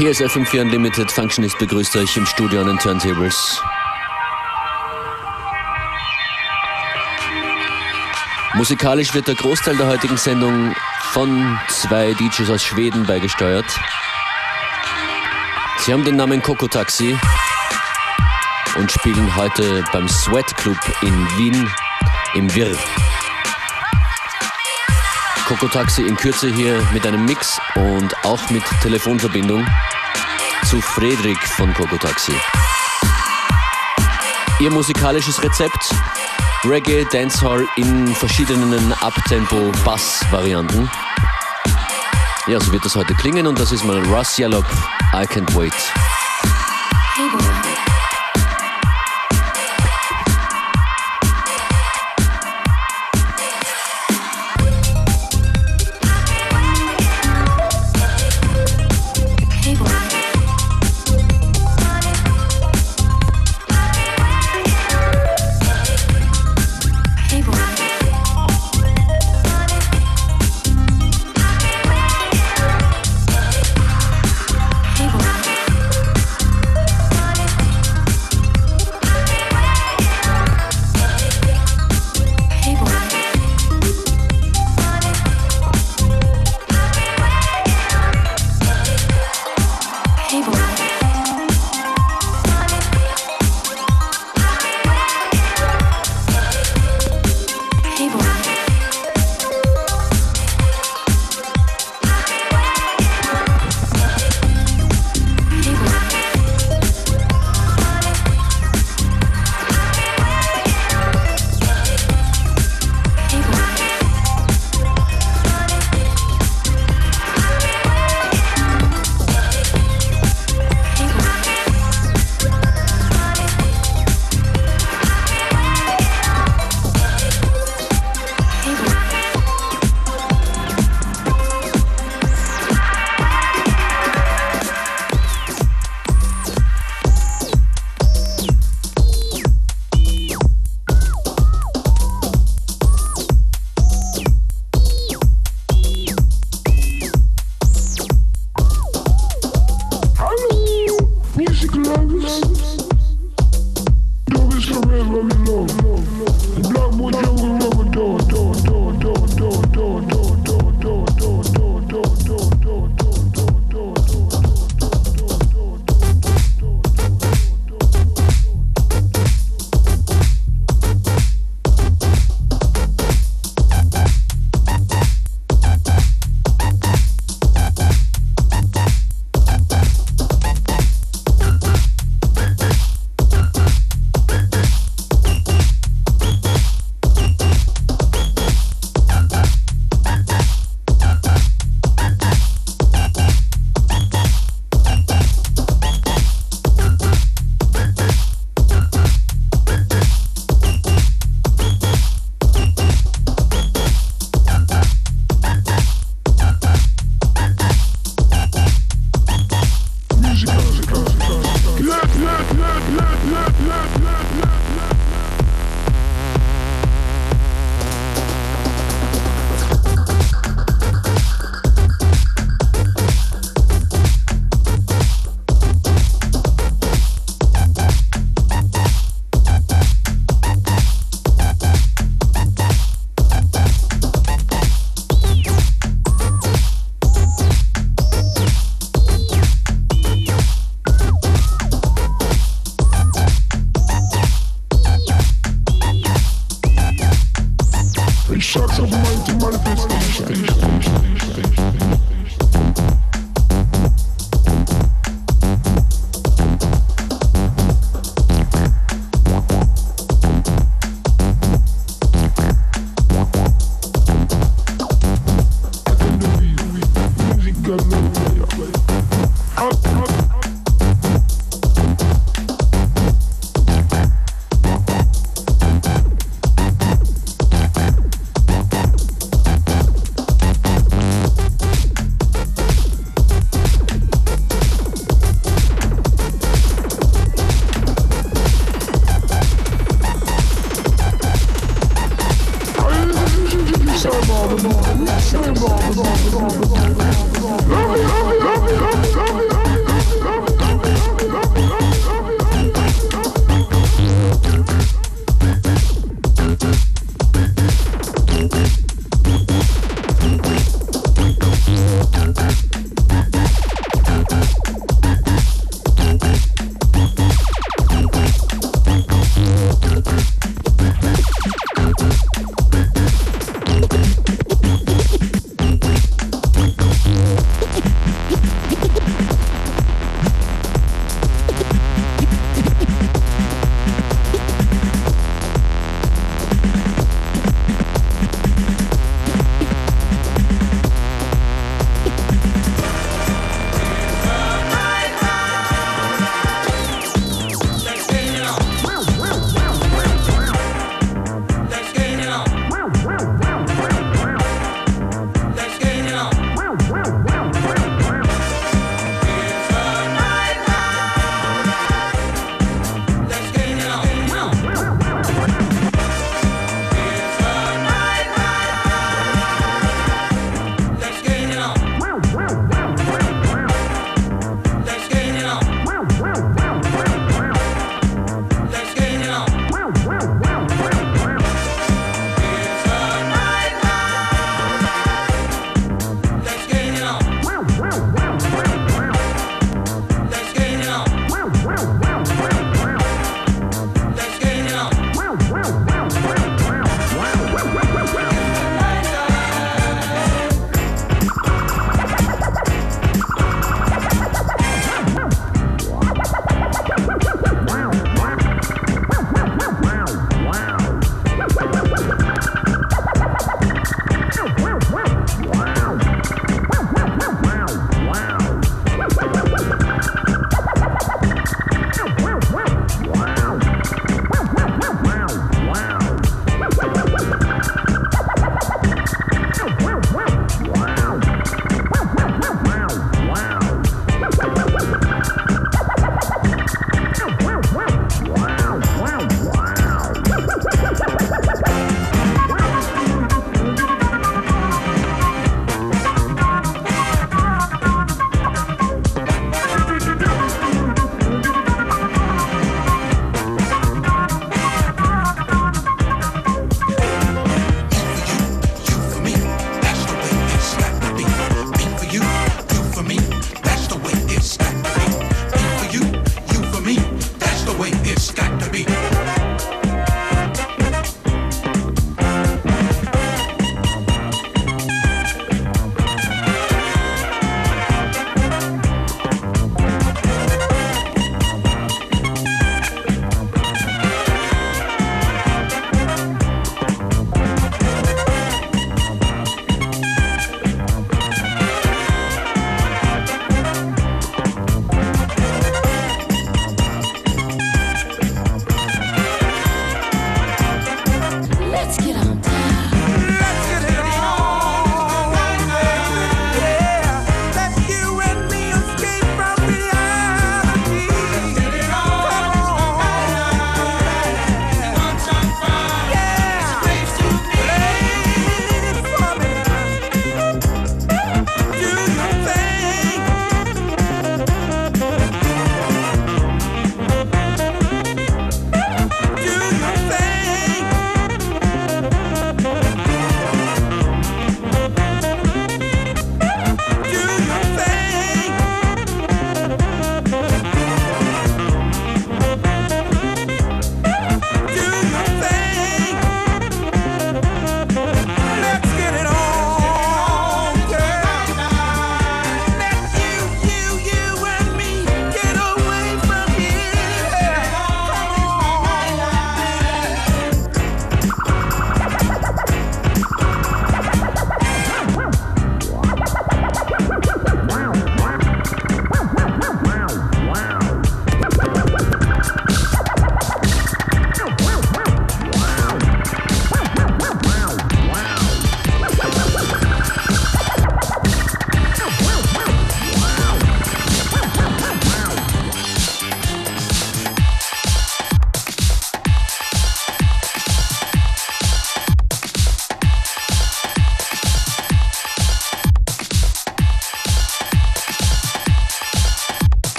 Hier ist FM4 Unlimited. Functionist begrüßt euch im Studio an den Turntables. Musikalisch wird der Großteil der heutigen Sendung von zwei DJs aus Schweden beigesteuert. Sie haben den Namen Coco Taxi und spielen heute beim Sweat Club in Wien im Wirr. Coco Taxi in Kürze hier mit einem Mix und auch mit Telefonverbindung zu Frederik von Coco Taxi. Ihr musikalisches Rezept: Reggae, Dancehall in verschiedenen Abtempo-Bass-Varianten. Ja, so wird das heute klingen und das ist mal Russ Yallop, I Can't Wait. Hey boy.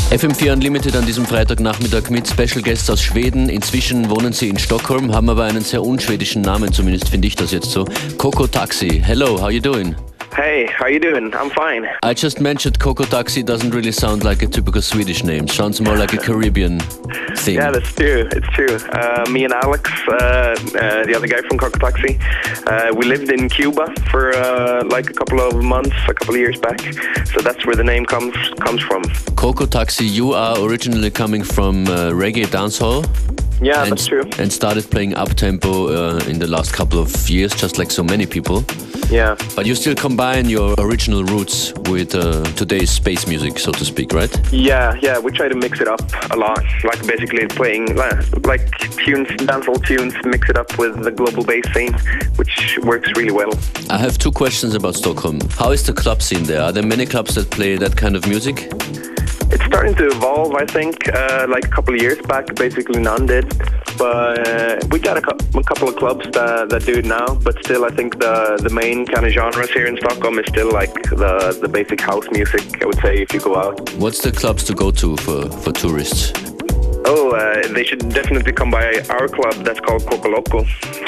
FM4 Unlimited an diesem Freitagnachmittag mit Special Guests aus Schweden. Inzwischen wohnen sie in Stockholm, haben aber einen sehr unschwedischen Namen, zumindest finde ich das jetzt so. Coco Taxi. Hello, how you doing? Hey, how you doing? I'm fine. I just mentioned Coco Taxi doesn't really sound like a typical Swedish name. Sounds more like a Caribbean thing. Yeah, that's true. It's true. Me and Alex, the other guy from Coco Taxi, we lived in Cuba for like a couple of months, a couple of years back. So that's where the name comes from. Coco Taxi, you are originally coming from reggae dancehall? Yeah, that's true. And started playing up-tempo in the last couple of years, just like so many people. Yeah. But you still combine your original roots with today's space music, so to speak, right? Yeah, we try to mix it up a lot. Like basically playing like tunes, dancehall tunes, mix it up with the global bass scene, which works really well. I have two questions about Stockholm. How is the club scene there? Are there many clubs that play that kind of music? It's starting to evolve, I think. Like a couple of years back, basically none did. But we got a couple of clubs that do it now. But still, I think the main kind of genres here in Stockholm is still like the basic house music, I would say, if you go out. What's the clubs to go to for tourists? Oh, they should definitely come by our club that's called Coco Loco.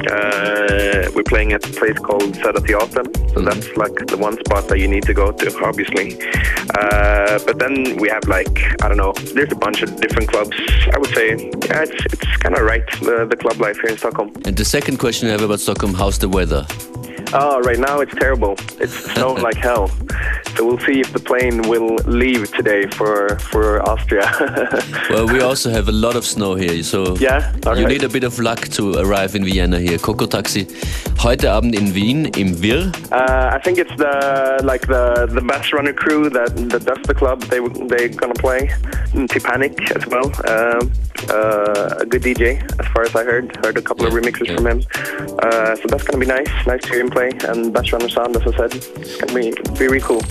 We're playing at a place called Södra Teatern, so that's like the one spot that you need to go to, obviously. But then we have like, I don't know, there's a bunch of different clubs. I would say, yeah, it's kind of right, the club life here in Stockholm. And the second question I have about Stockholm, how's the weather? Oh, right now it's terrible. It's snowing like hell. So we'll see if the plane will leave today for Austria. Well, we also have a lot of snow here, so yeah, you need a bit of luck to arrive in Vienna here. Coco Taxi, heute Abend in Wien, im Wir. I think it's the Bass Runner crew that does the club. They're gonna play. Tipanic as well. A good DJ, as far as I heard a couple of remixes from him. So that's gonna be nice to hear him play. And Bass Runner sound, as I said, it's gonna be really cool.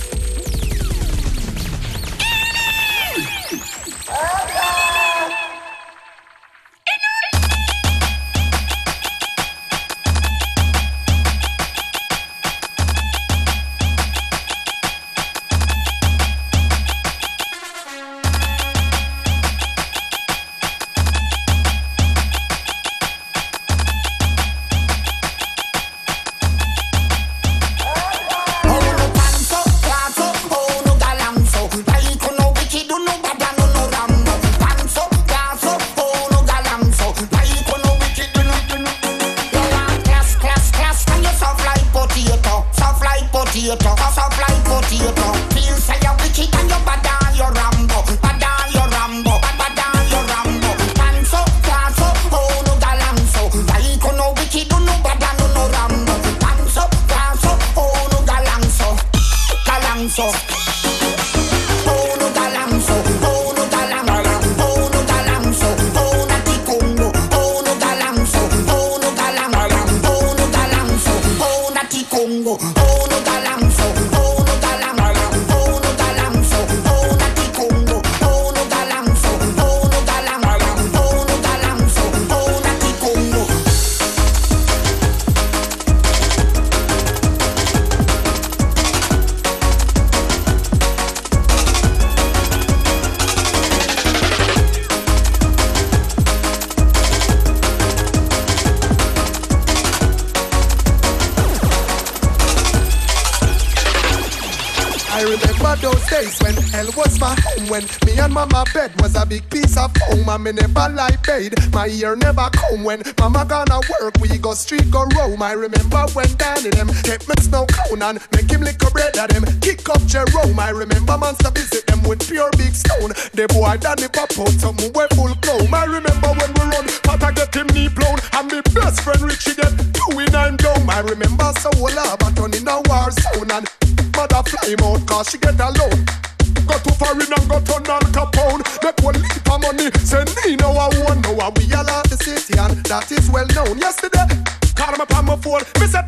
When me and mama bed was a big piece of home, and me never lie paid. My ear never come when mama gonna work. We go street go roam. I remember when Danny them kept me snow cone and make him lick a bread at them. Kick up Jerome. I remember monster visit them with pure big stone. The boy Danny pop out some way full chrome. I remember when we run, Pata get him knee blown, and me best friend Richie get 2 in 9 down. I remember Soul Lava turning a war zone and mother fly him out 'cause she get alone. Go to foreign and go turn Al Capone. Make one leap of money. Say me no I won't know how we all out the city, and that is well known. Yesterday, call me upon my phone. Me said,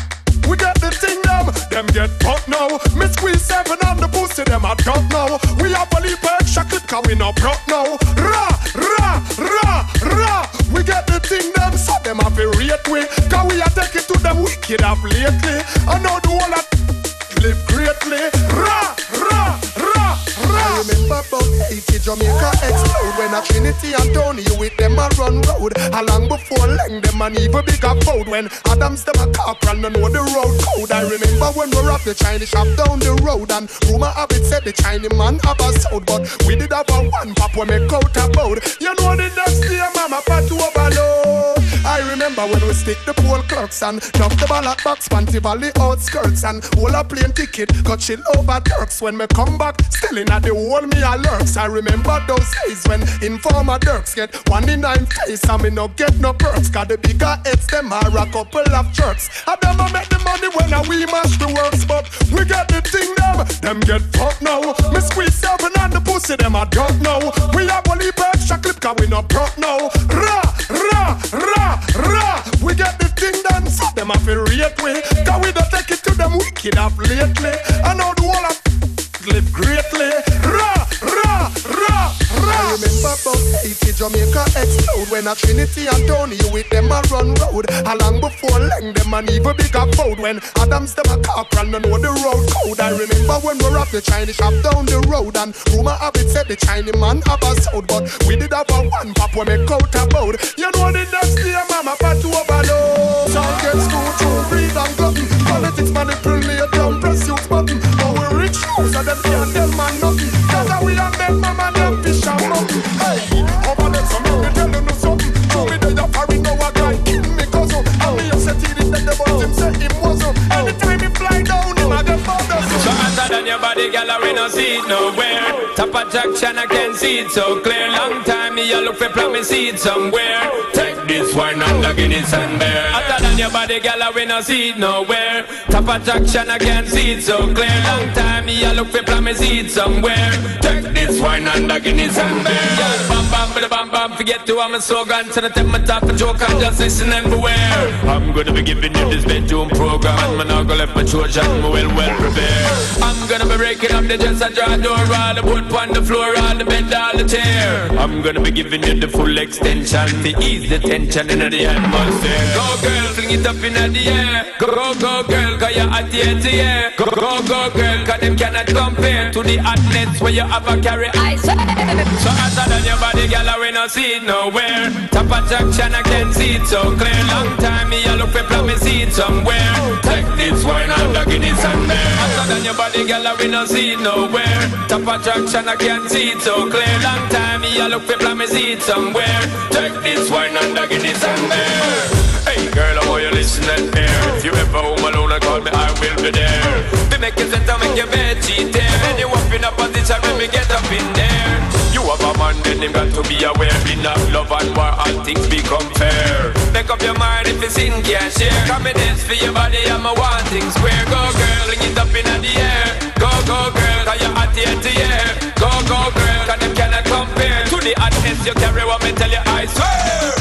we get the thing them get put now. Me squeeze 7 on the pussy, them I don't know. We have a leap extra clip, cause we no broke now. Ra, ra, ra, ra. We get the thing them, so them have a rate way. Cause we are taking to them wicked up lately. I know the whole lot live greatly. Ra, ra, ra, ra. I remember about 80 Jamaica explode when a Trinity and Tony with them a run road. Along before Leng them an even bigger fold. When Adams them a corporal no know the road code. I remember when we robbed the Chinese shop down the road, and rumor have it said the Chinese man have a sound, but we did have a one pop when me coat about. You know the next day mama pat to overload. I remember when we stick the pole clerks and dump the ballot box, Panty Valley outskirts, and all a plane ticket got chill over Turks. When me come back, still in at the whole me a lurks. I remember those days when informer Dirks get 1 in 9 face and me no get no perks. Got the bigger heads, them are a couple of jerks. I never make the money when we mash the works, but we get the thing them get fucked now. Me squeeze seven and the pussy, them I don't know. We have only extra clip cause we no broke now. Ra, ra, ra, ra. We get the thing done, so them have to rate we. Cause we don't take it to them wicked up lately. I know the whole of live greatly. Ra, ra, ra, ra. I remember about 80 Jamaica explode when a Trinity and Tony with them a run road. Along before Leng them an even bigger fold. When Adams them a corporal no know the road code. I remember when we robbed the Chinese shop down the road, and rumor have it said the Chinese man have a sound, but we did have a one pop when me coat about. You know the next day mama pat to overload. Target school through breed and glutton. Politics manipulate down press youth button. But we rich house and them can't tell man nothing. Cause we have made mama them fish and mutton. Hey, over there some me tell you something. Show me that you're foreign now a guy kill me cousin. And me just said it that the boss him say him wasn't. Anytime he fly down him I get bothered. So hotter than your body girl we no see it nowhere. Top attraction I can see it so clear. Long time me a look for promise see it somewhere. Take this wine and the Guinness and beer. Hotter than your body girl we no see it nowhere. Top attraction I can see it so clear. Long time me a look for promise see it somewhere. Take this wine and the Guinness and beer. Bam bam bam bam bam. Forget to I'm a slogan. So the take my top a joke and just listen and beware. I'm gonna be giving you this bedroom program, and I'm not gonna let my Trojan well prepared. I'm gonna be breaking up the dress and draw door, all the wood on the floor, all the bed, all the chair. I'm gonna be giving you the full extension to ease the tension in the atmosphere. Go girl, fling it up in the air. Go girl, cause you're at the edge, yeah. Go girl, cause them cannot compare to the hotness where you have a carry. I swear. So hotter than your body, girl, we no see it nowhere. Top attraction, I can see it so clear. Long time me I look for promise see it somewhere. Take this wine and the Guinness and beer. Hotter than your body, girl, we no see it nowhere. Top attraction, I can see it so clear. Long time me I look for promise see it somewhere. Take this wine and the Guinness and beer. Hey girl, I want you listen and hear. If you ever home alone, call me, I will be there. Be making sense to make your bed cheat there. And you up in a position when we get up in there. You have a man, then him got to be aware. In a love and war, all things become fair. Make up your mind if it's in can't share. Confidence for your body, I'm a wanting square. Go girl, bring it up in the air. Go girl, cause you're at the end of the air. Go girl, cause them cannot compare to the hotness you carry. What me tell you, I swear.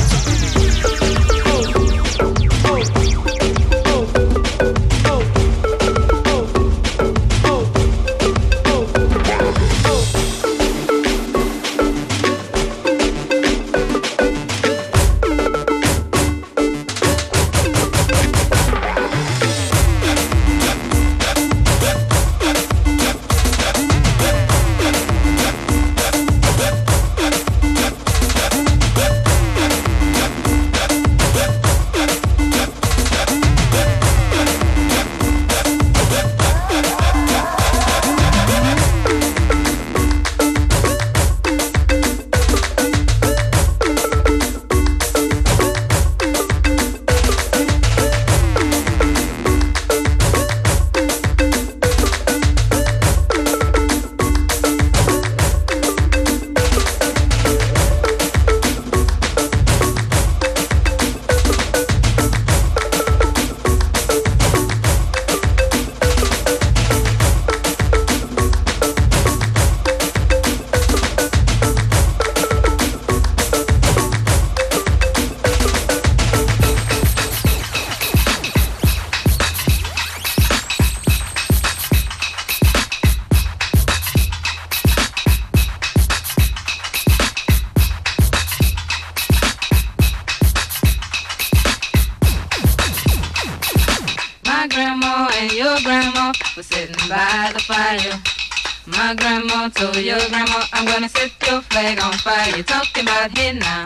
My grandma and your grandma were sitting by the fire. My grandma told your grandma, I'm gonna set your flag on fire. You're talking about hey now,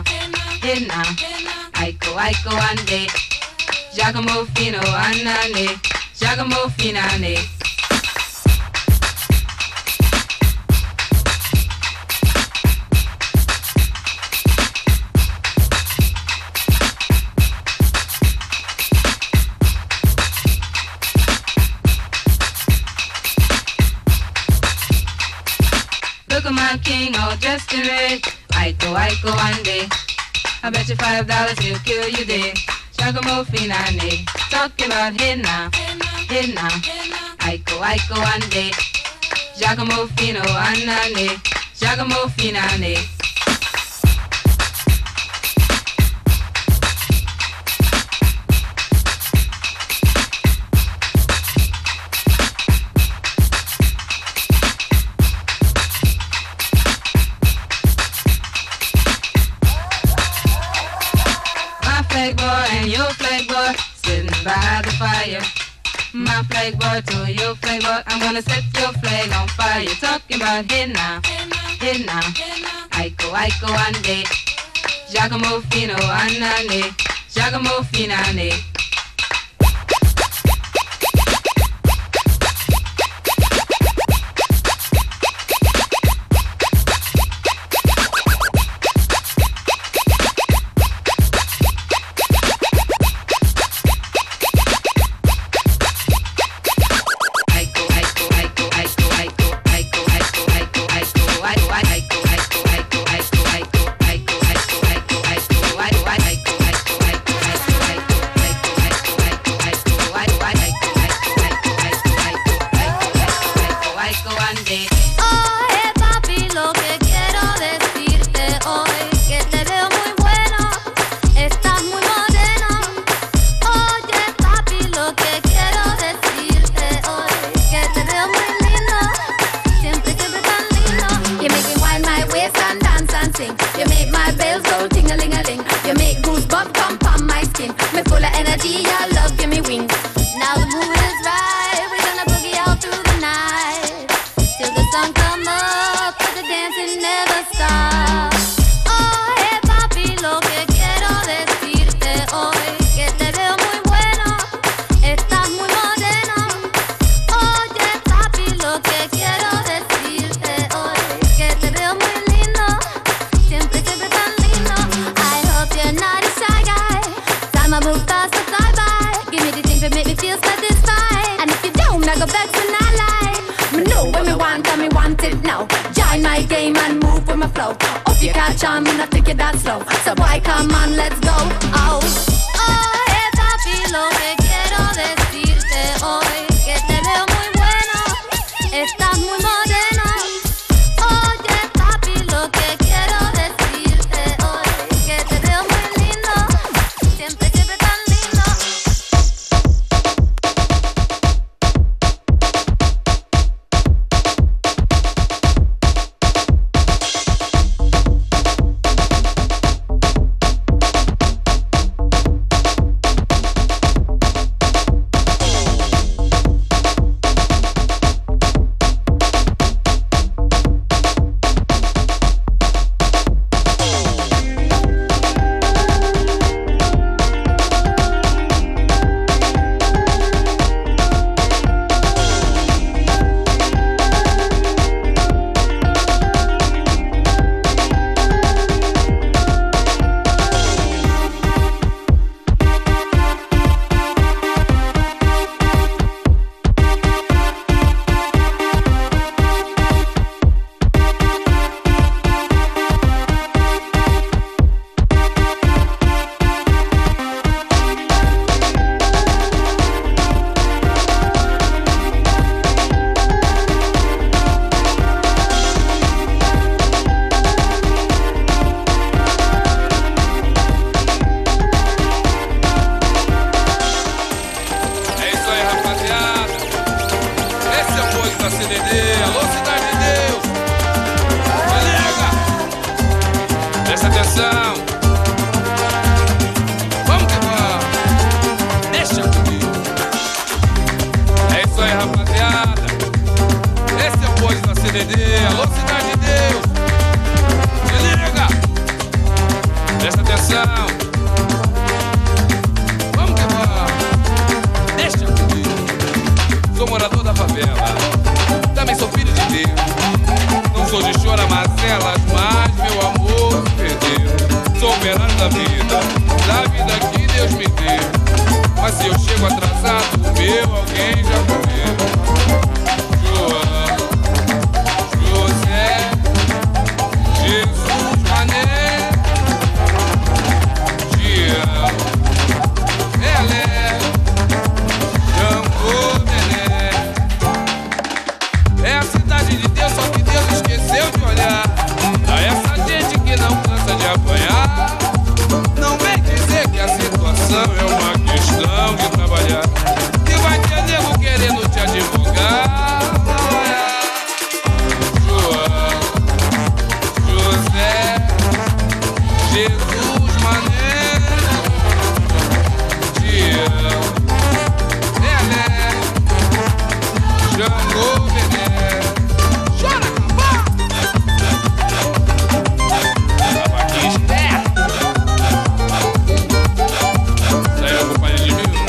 Aiko, Aiko, ande. Giacomo Fino, anane. Giacomo Finane. Look at my king all dressed in red. Aiko, Aiko, ande. I bet you $5 he'll kill you dead. Giacomo Finane. Talking about hey now, Aiko, Aiko, ande. Giacomo Fino, anane. Giacomo Finane. Flag boy and your flag boy sitting by the fire. My flag boy to your flag boy, I'm gonna set your flag on fire. You're talking about hey now, Aiko, Aiko, ande. Giacomo Fino, anane. Giacomo Finane. CDD, alô Cidade de Deus. Se liga, presta atenção. Vamos que vamos. Deixa comigo. Sou morador da favela, também sou filho de Deus. Não sou de chora-macelas, mas meu amor se perdeu. Sou operário da vida que Deus me deu. Mas se eu chego atrasado, o meu alguém já morreu. João, José, Jesus, Mané, Tião, Pelé, Jango, Nené. É a cidade de Deus, só que Deus esqueceu de olhar pra essa gente que não cansa de apanhar. Não vem dizer que a situação é uma questão de trabalhar, que vai ter nego querendo te advogar. João, José, Jesus, Mané, Tião, Pelé, Jango, Bené. Chora, cambá! Tava aqui esperto. Saiu a companhia de mil.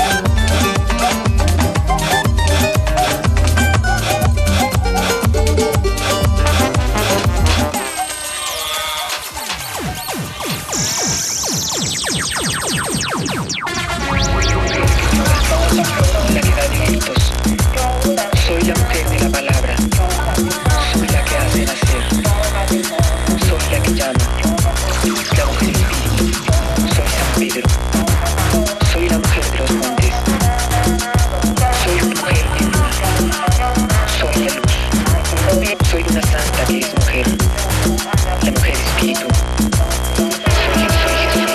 Soy la mujer de la palabra, soy la que hace nacer, soy la que llama, la mujer espíritu, soy San Pedro, soy la mujer de los montes, soy una mujer de luna, soy la luz, soy una santa que es mujer, la mujer espíritu, soy Jesús.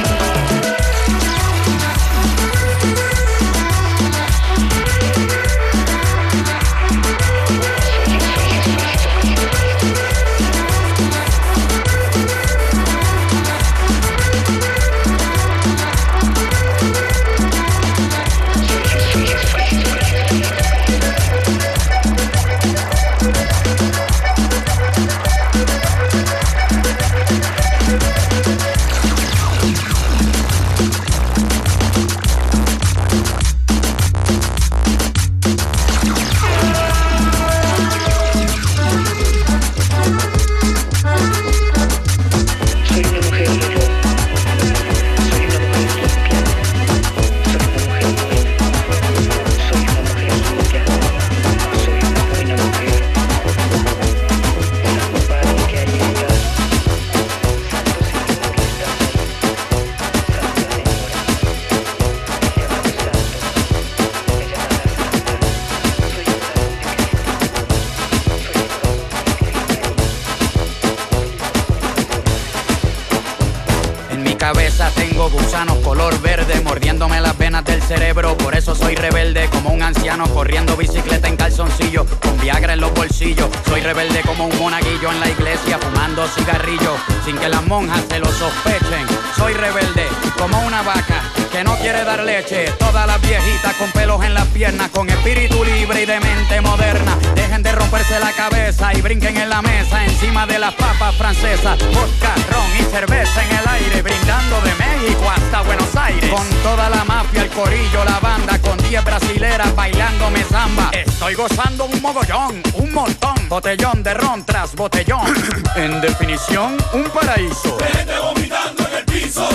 Tengo gusanos color verde mordiéndome las venas del cerebro. Por eso soy rebelde como un anciano corriendo bicicleta en calzoncillo, con Viagra en los bolsillos. Soy rebelde como un monaguillo en la iglesia fumando cigarrillos sin que las monjas se lo sospechen. Soy rebelde como una vaca que no quiere dar leche. Todas las viejitas con pelos en las piernas, con espíritu libre y de mente moderna. Dejen de romperse la cabeza y brinquen en la mesa encima de las papas francesas. Vodka, ron y cerveza en el aire, brindando de México hasta Buenos Aires. Con toda la mafia, el corillo, la banda, con 10 brasileras bailándome samba. Estoy gozando un mogollón, un montón. Botellón de ron tras botellón. En definición, un paraíso. Gente vomitando en el piso.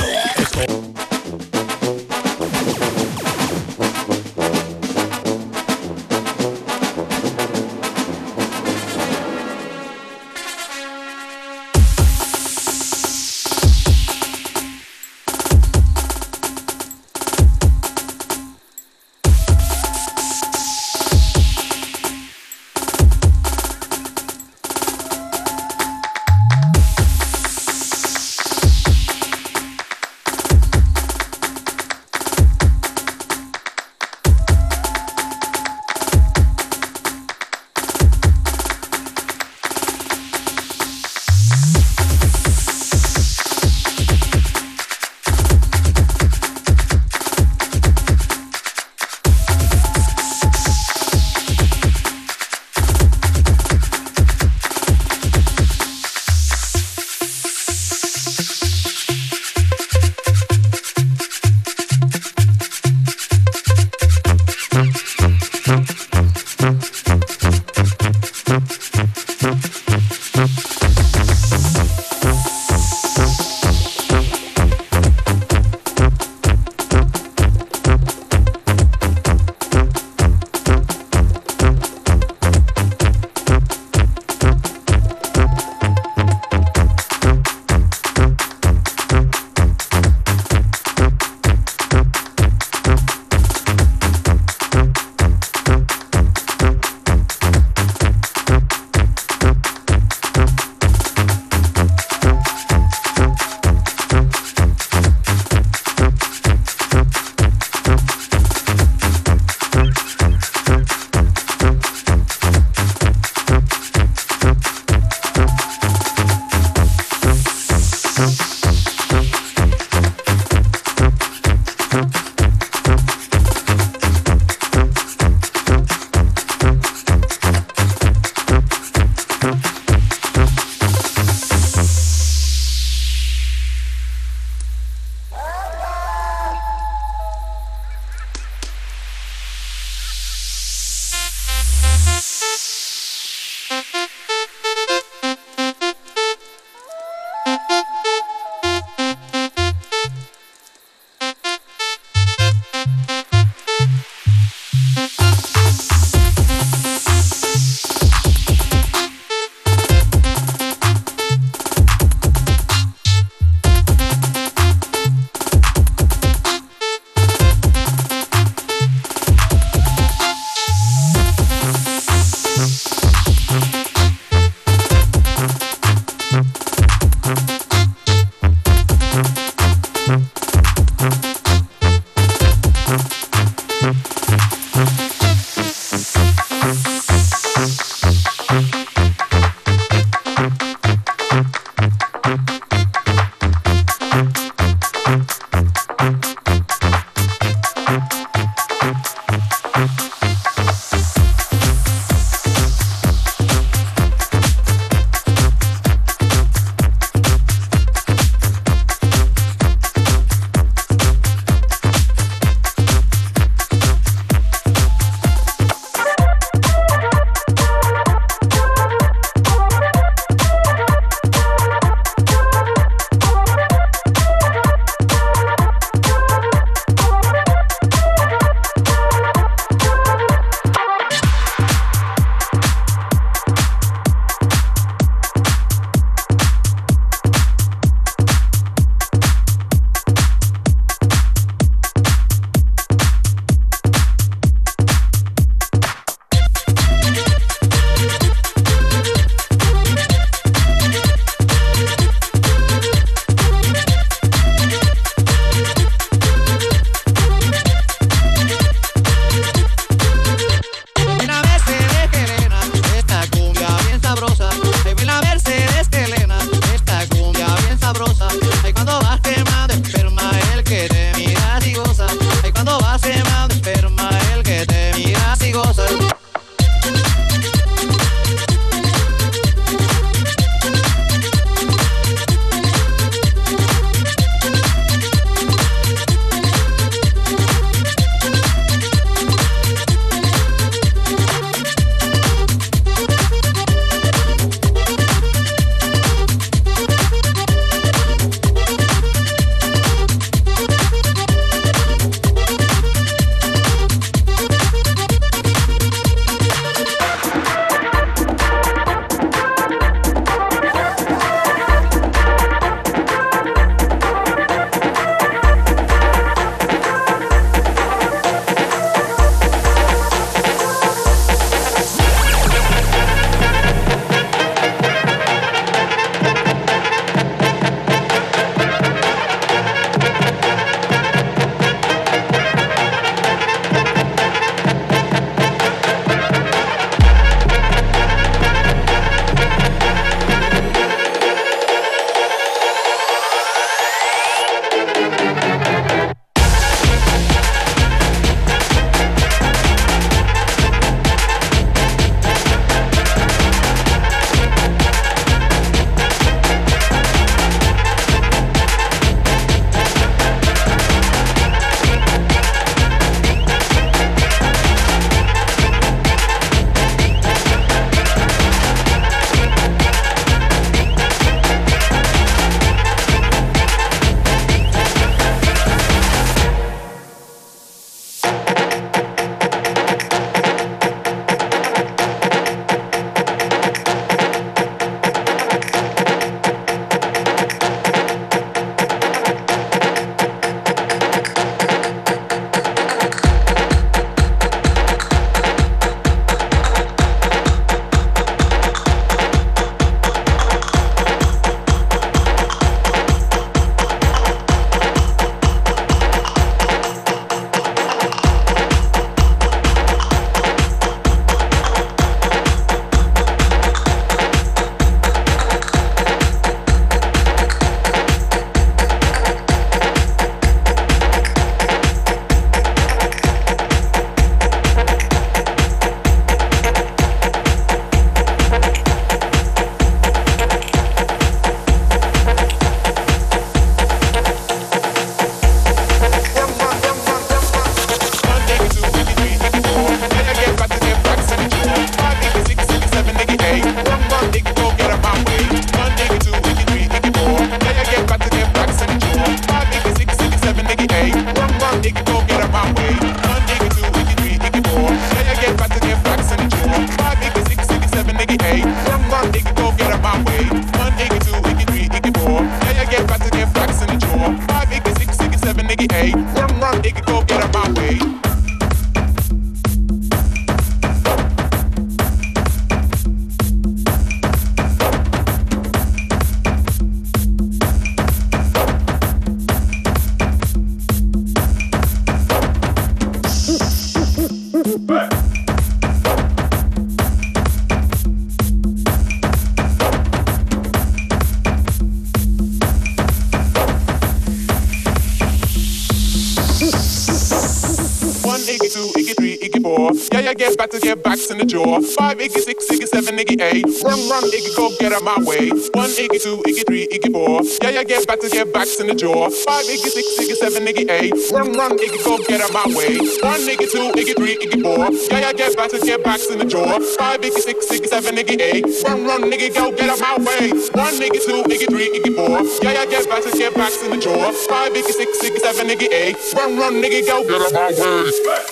yeah, get backs in the jaw. 5, Iggy 6, Iggy 7, Iggy 8. Run, Iggy, go get out my way. 1, Iggy 2, Iggy 3, Iggy 4. Yeah, get backs in the jaw. 5, Iggy 6, Iggy 7, Iggy 8. Run, Iggy, go get out my way. 1, Iggy 2, Iggy 3, Iggy 4. Yeah, get backs in the jaw. 5, Iggy 6, Iggy 7, Iggy 8. Run, Iggy, go get out my way. 1, Iggy 2, Iggy 3, Iggy 4. Yeah, get backs in the jaw. 5, Iggy 6, Iggy 7, Iggy 8. Run, Iggy, go get out my way.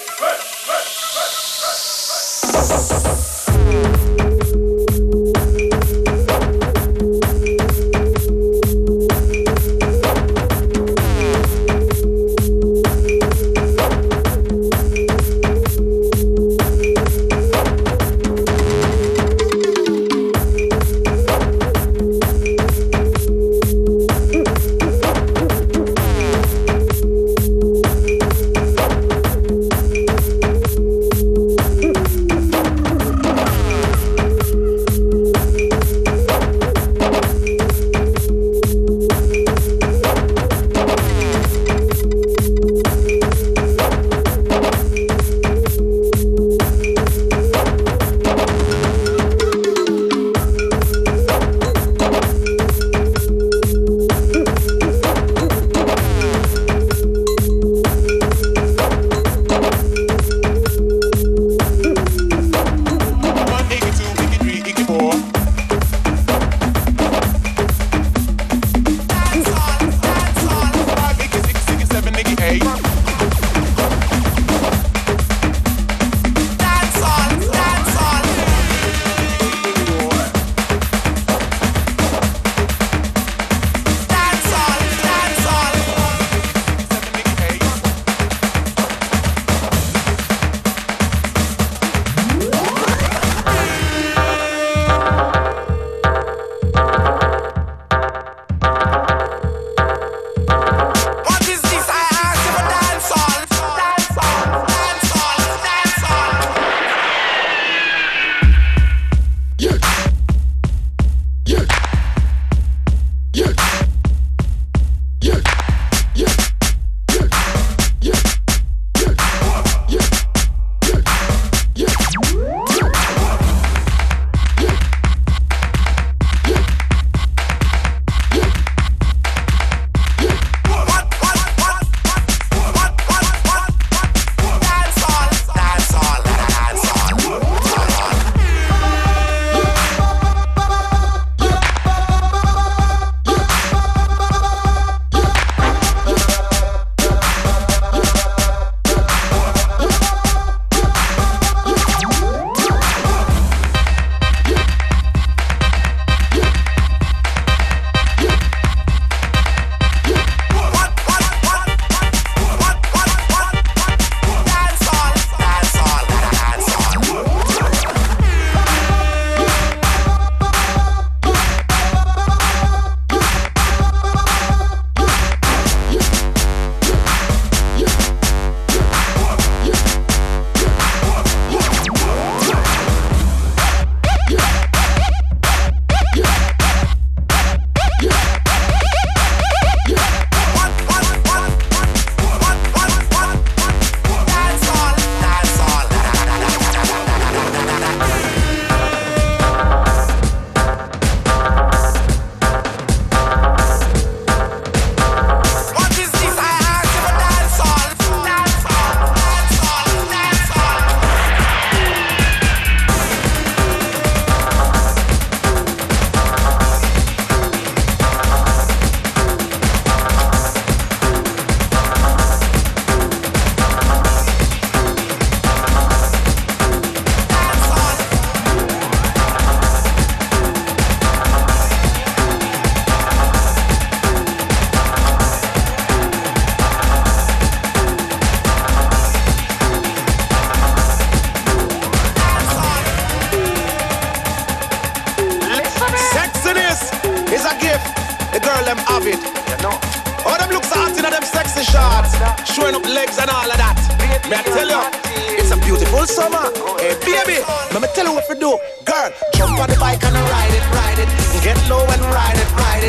showing up legs and all of that. May I tell you, it's a beautiful summer. Hey baby, let me tell you what to do. Girl, jump on the bike and ride it, ride it. Get low and ride it, ride it.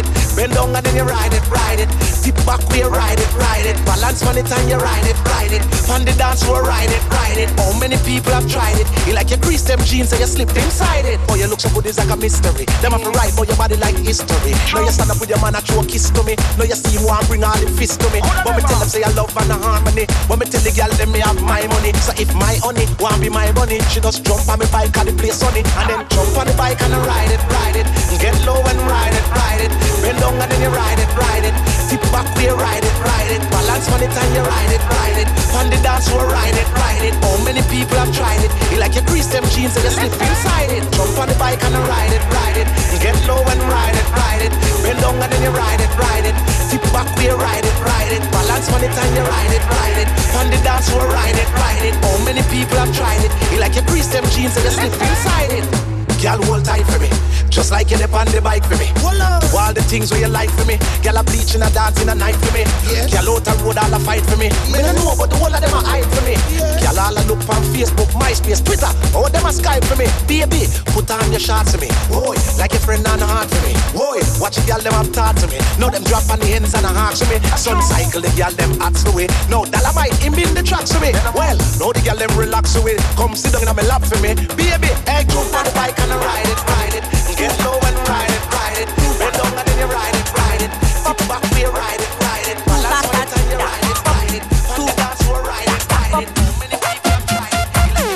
Bend down and then you ride it, ride it. Tip back where you ride it, ride it. Balance on it and you ride it, ride it. On the dance floor, ride it, ride it. How many people have tried it? You like you grease them jeans and you slipped inside it. Oh, you look so good, it's like a mystery. Them have to write for your body like history. Now you stand up with your man and throw a kiss to me. Now you see him want bring all the fist to me. But me tell them say I love and a harmony. But me tell the girl them me have my money. So if my honey want be my bunny, she just jump on me bike and the place sunny. And then jump on the bike and ride it, ride it. Get low and ride it, ride it. Bend down and then you ride it, ride it. Tip back where you ride it, ride it. Balance on it and you ride it, ride it. On the dance floor, ride it, ride it. How many people have tried it? You like you grease them jeans and you slip inside it. Jump on the bike and ride it, ride it. Get low and ride it, ride it. Bend down and then you ride it, ride it. Tip back where you ride it, ride it. Balance on it and you ride it, ride it. On the dance floor, ride it, ride it. How many people have tried it? You like you grease them jeans and you slip inside it. Girl, hold tight for me. Just like you dip on the bike for me. Do all the things where you like for me. Girl, a bleach and a dance in a night for me. Girl, out the road, all a fight for me. Me don't know, but the whole of them a hide for me. Girl, all a look on Facebook, MySpace, Twitter. All them a Skype for me. Baby, put on your shots for me. Boy, like your friend on the heart for me. Boy, watch the girl, them have thought to me. Now them drop on the ends and the hearts for me. Sun cycle, the girl, them hats the way. Now, Dolomite, him in the tracks for me. Well, now the girl, them relax away. Come sit down in my lap for me. Baby, hey, jump on the bike and ride it, ride it. Get low and ride it, ride it. Bend down and then you ride it, ride it. Tip back where you ride it, ride it. Balance on it and you ride it, ride it. On the dance floor, ride it, ride it. How many people have tried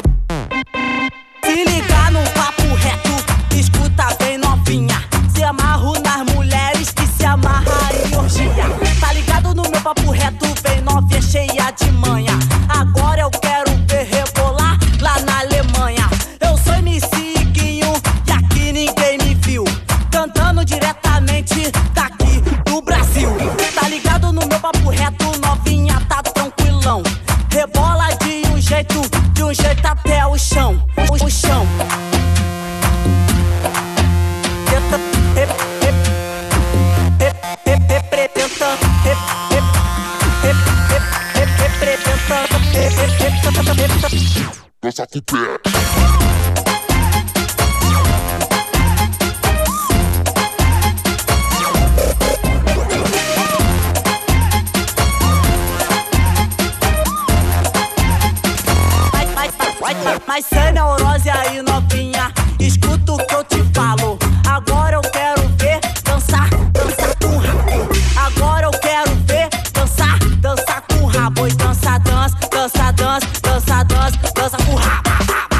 it? Se ligar no papo reto, escuta bem novinha. Se amarro nas mulheres que se amarra em orgia. Tá ligado no meu papo reto, bem novinha, cheia de manha. Agora eu quero ver rebolar lá na Alemanha. Eu sou MC Iguinho e aqui ninguém me viu. Cantando diretamente daqui do Brasil. Tá ligado no meu papo reto, novinha, tá tranquilão. Rebola de um jeito até o chão. O chão. Dança com o pé. Mas sem neurose aí, novinha, escuta o que eu te falo. Agora eu quero ver dançar com rabo. Agora eu quero ver dançar com rabo. E dança com rabo.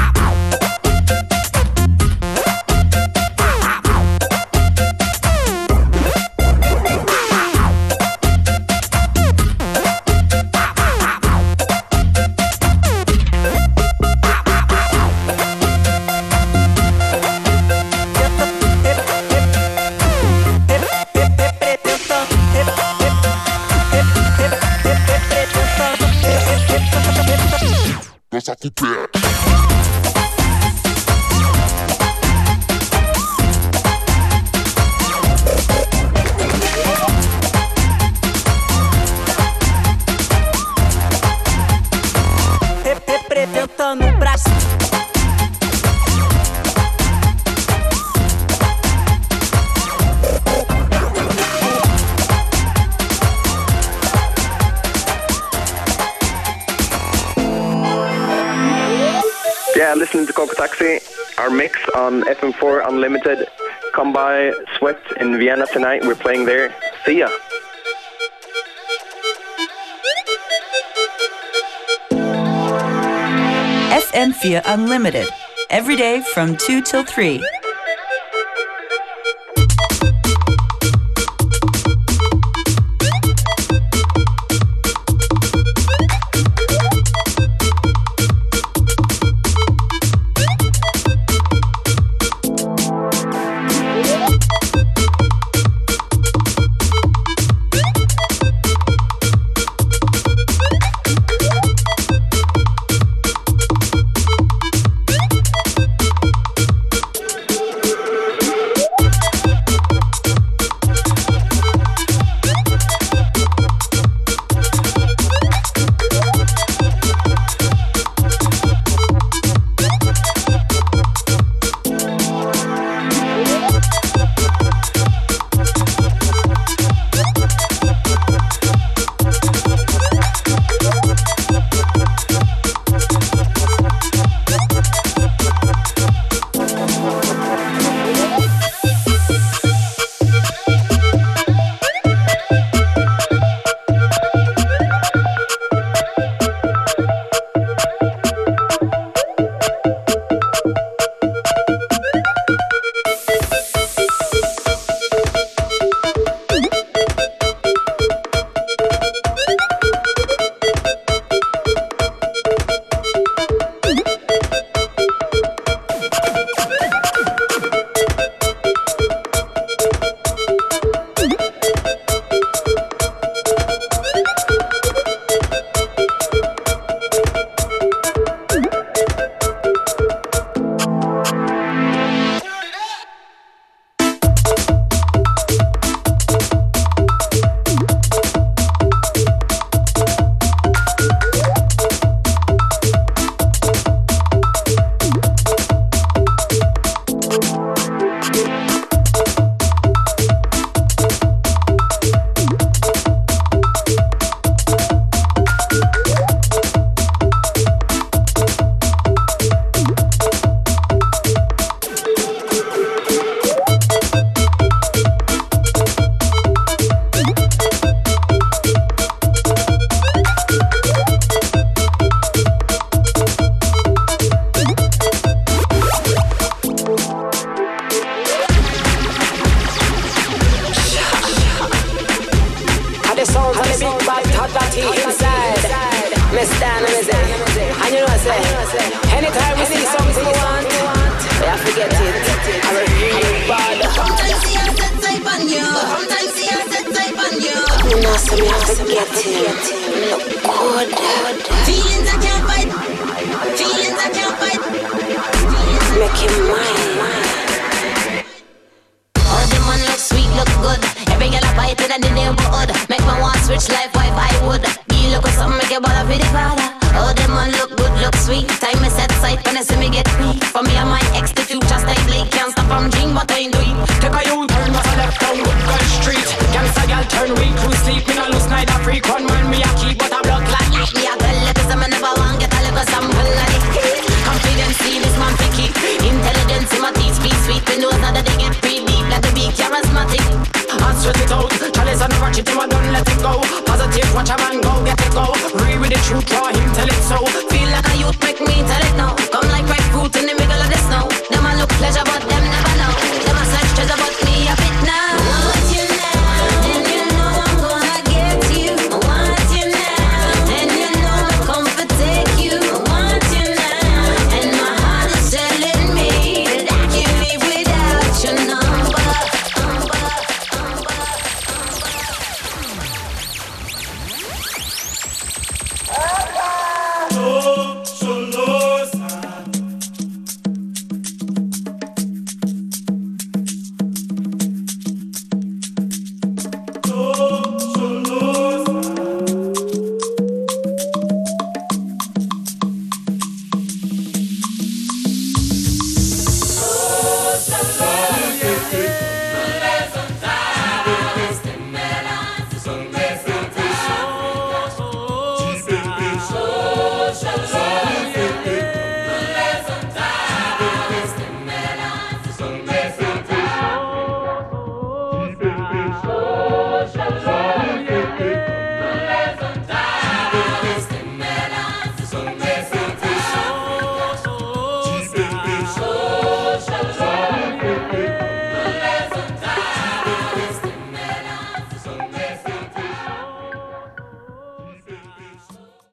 Dança com o pé. Representando o Brasil. Yeah, listening to Coco Taxi, our mix on FM4 Unlimited. Come by Sweat in Vienna tonight. We're playing there. See ya. FM4 Unlimited. Every day from 2 till 3. me stand and me say, and you know I say, anytime we see something we want, we have to get it. I'm a real bad. Sometimes see I set type on you. Sometimes see I set type on you. You know, so me have to get it. Look good. Feelings I can't fight. Feelings I can't fight. Make him mine. Oh, the man look sweet, look good. Every girl I fight in the neighborhood. Make me want switch life, wife I would. You look with something, make your ball up with the father. Oh, the man look good, look sweet. Time me set sight when I see me get free. For me and my ex, the future style Blake. Can't stop from dream, but I ain't do it. Take a U-turn, what's a left down Woodgun Street. Gangsta girl turn weak, who sleep in a loose night, a freak. One man me a keep, but